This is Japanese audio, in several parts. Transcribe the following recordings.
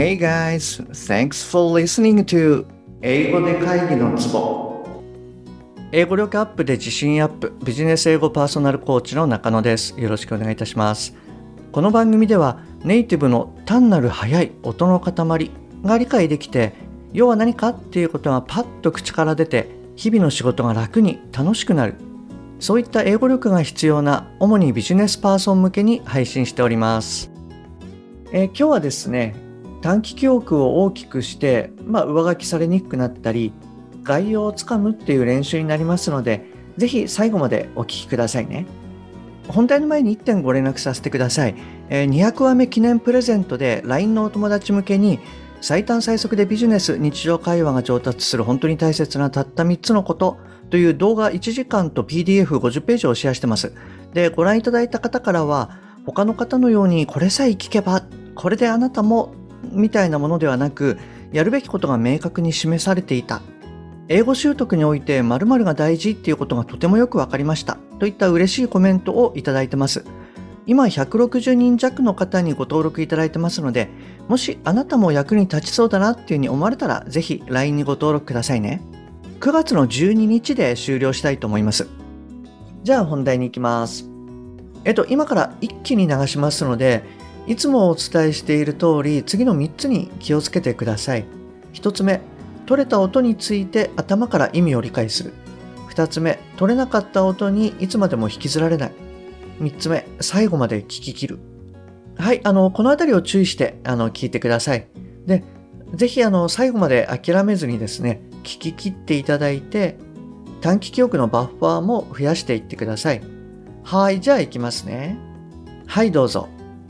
Hey guys, thanks for listening to 英語で会議のツボ。英語力アップで自信アップ、ビジネス英語パーソナルコーチの中野です。よろしくお願いいたします。この番組ではネイティブの単なる速い音の塊が理解できて、要は何かっていうことがパッと口から出て、日々の仕事が楽に楽しくなる。そういった英語力が必要な主にビジネスパーソン向けに配信しております。今日はですね、短期記憶を大きくして、上書きされにくくなったり、概要をつかむっていう練習になりますので、ぜひ最後までお聞きくださいね。本題の前に1点ご連絡させてください。200話目記念プレゼントで LINE のお友達向けに最短最速でビジネス、日常会話が上達する本当に大切なたった3つのことという動画1時間と PDF50 ページをシェアしてます。で、ご覧いただいた方からは、他の方のようにこれさえ聞けば、これであなたもみたいなものではなく、やるべきことが明確に示されていた。英語習得において〇〇が大事っていうことがとてもよくわかりました。といった嬉しいコメントをいただいてます。今160人弱の方にご登録いただいてますので、もしあなたも役に立ちそうだなっていうふうに思われたら、ぜひ LINE にご登録くださいね。9月の12日で終了したいと思います。じゃあ本題に行きます。今から一気に流しますので、いつもお伝えしている通り、次の3つに気をつけてください。1つ目、取れた音について頭から意味を理解する。2つ目、取れなかった音にいつまでも引きずられない。3つ目、最後まで聞き切る。はい、このあたりを注意して聞いてください。で、ぜひ最後まで諦めずにですね、聞き切っていただいて、短期記憶のバッファーも増やしていってください。はい、じゃあ行きますね。はい、どうぞ。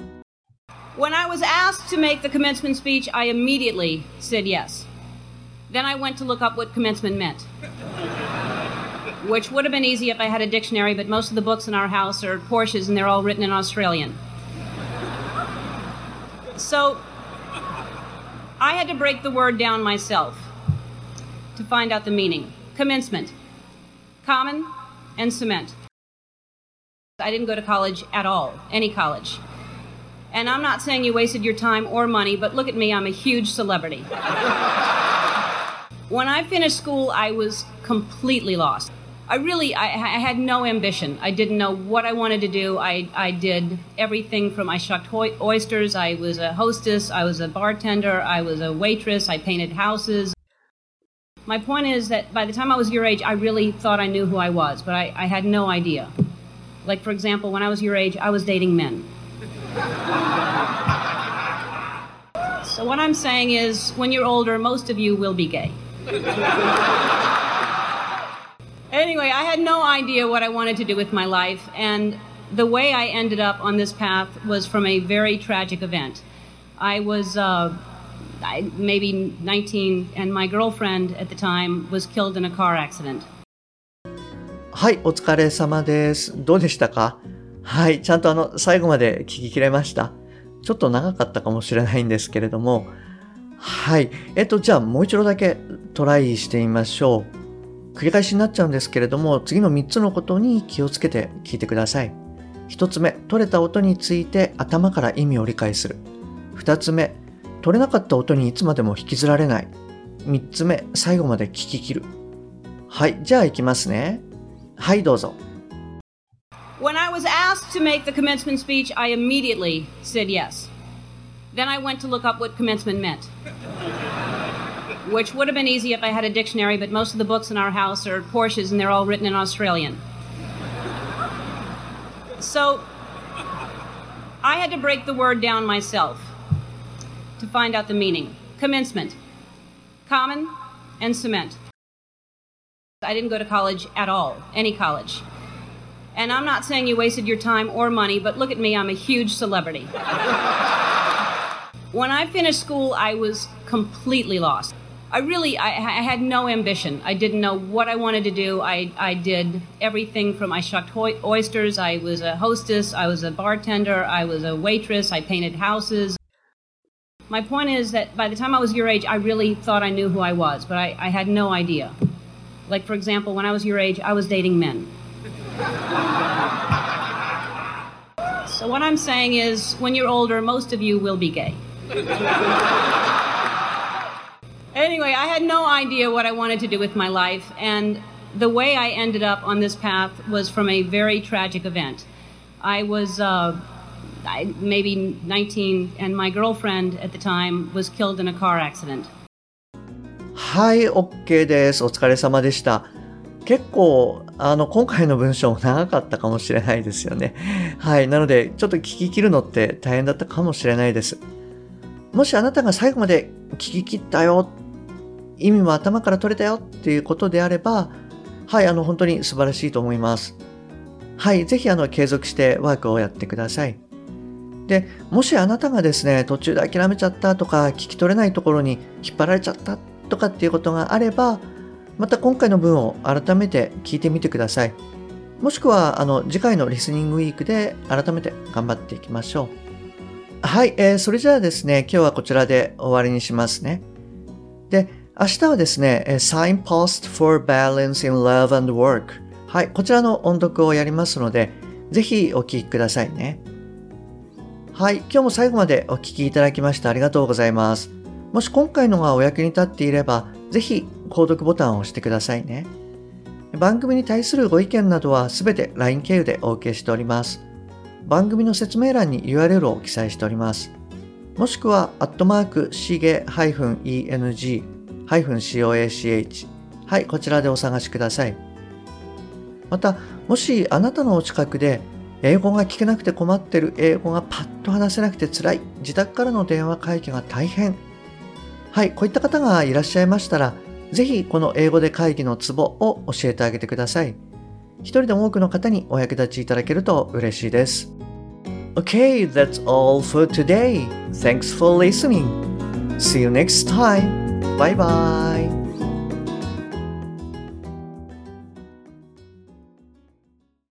When I was asked to make the commencement speech, I immediately said yes. Then I went to look up what commencement meant, which would have been easy if I had a dictionary, but most of the books in our house are Porsches and they're all written in Australian. So I had to break the word down myself to find out the meaning. Commencement, common and cement. I didn't go to college at all, any college. And I'm not saying you wasted your time or money, but look at me, I'm a huge celebrity. When I finished school, I was completely lost. I had no ambition. I didn't know what I wanted to do. I did everything from I shucked oysters, I was a hostess, I was a bartender, I was a waitress, I painted houses. My point is that by the time I was your age, I really thought I knew who I was, but I had no idea. Like, for example, when I was your age, I was dating men. So what I'm saying is, when you're older, most of you will be gay. Anyway, I had no idea what I wanted to do with my life, and the way I ended up on this path was from a very tragic event. I was maybe 19, and my girlfriend at the time was killed in a car accident. はい、お疲れ様です。どうでしたか？はい、ちゃんと最後まで聞き切れました。ちょっと長かったかもしれないんですけれども、はい、じゃあもう一度だけトライしてみましょう。繰り返しになっちゃうんですけれども、次の3つのことに気をつけて聞いてください。1つ目、取れた音について頭から意味を理解する。2つ目、取れなかった音にいつまでも引きずられない。3つ目、最後まで聞き切る。はい、じゃあ行きますね。はい、どうぞ。 When I was asked to make the commencement speech, I immediately said yes. Then I went to look up what commencement meant, which would have been easy if I had a dictionary, but most of the books in our house are Porsches and they're all written in Australian. So I had to break the word down myself to find out the meaning. Commencement, common and cement. I didn't go to college at all, any college. And I'm not saying you wasted your time or money, but look at me, I'm a huge celebrity. When I finished school, I was completely lost. I had no ambition. I didn't know what I wanted to do. I did everything from I shucked oysters, I was a hostess, I was a bartender, I was a waitress, I painted houses. My point is that by the time I was your age, I really thought I knew who I was, but I had no idea. Like, for example, when I was your age, I was dating men. So what I'm saying is, when you're older, most of you will be gay. Anyway, I had no idea what I wanted to do with my life, and the way I ended up on this path was from a very tragic event. I was maybe 19, and my girlfriend at the time was killed in a car accident. はい、OK です。お疲れ様でした。結構、今回の文章も長かったかもしれないですよね。はい、なので、ちょっと聞き切るのって大変だったかもしれないです。もしあなたが最後まで聞き切ったよ、意味も頭から取れたよっていうことであれば、はい、本当に素晴らしいと思います。はい、ぜひ継続してワークをやってください。で、もしあなたがですね、途中で諦めちゃったとか、聞き取れないところに引っ張られちゃったとかっていうことがあれば、また今回の文を改めて聞いてみてください。もしくは、次回のリスニングウィークで改めて頑張っていきましょう。はい、それじゃあですね、今日はこちらで終わりにしますね。で、明日はですね、Signpost for Balance in Love and Work。はい、こちらの音読をやりますので、ぜひお聞きくださいね。はい、今日も最後までお聞きいただきましてありがとうございます。もし今回のがお役に立っていれば、ぜひ購読ボタンを押してくださいね。番組に対するご意見などはすべて LINE 経由でお受けしております。番組の説明欄に URL を記載しております。もしくは、@shige-eng-coach。はい、こちらでお探しください。また、もしあなたのお近くで、英語が聞けなくて困っている、英語がパッと話せなくて辛い、自宅からの電話会議が大変。はい、こういった方がいらっしゃいましたら、ぜひこの英語で会議のツボを教えてあげてください。一人でも多くの方にお役立ちいただけると嬉しいです。Okay, that's all for today. Thanks for listening. See you next time. Bye bye.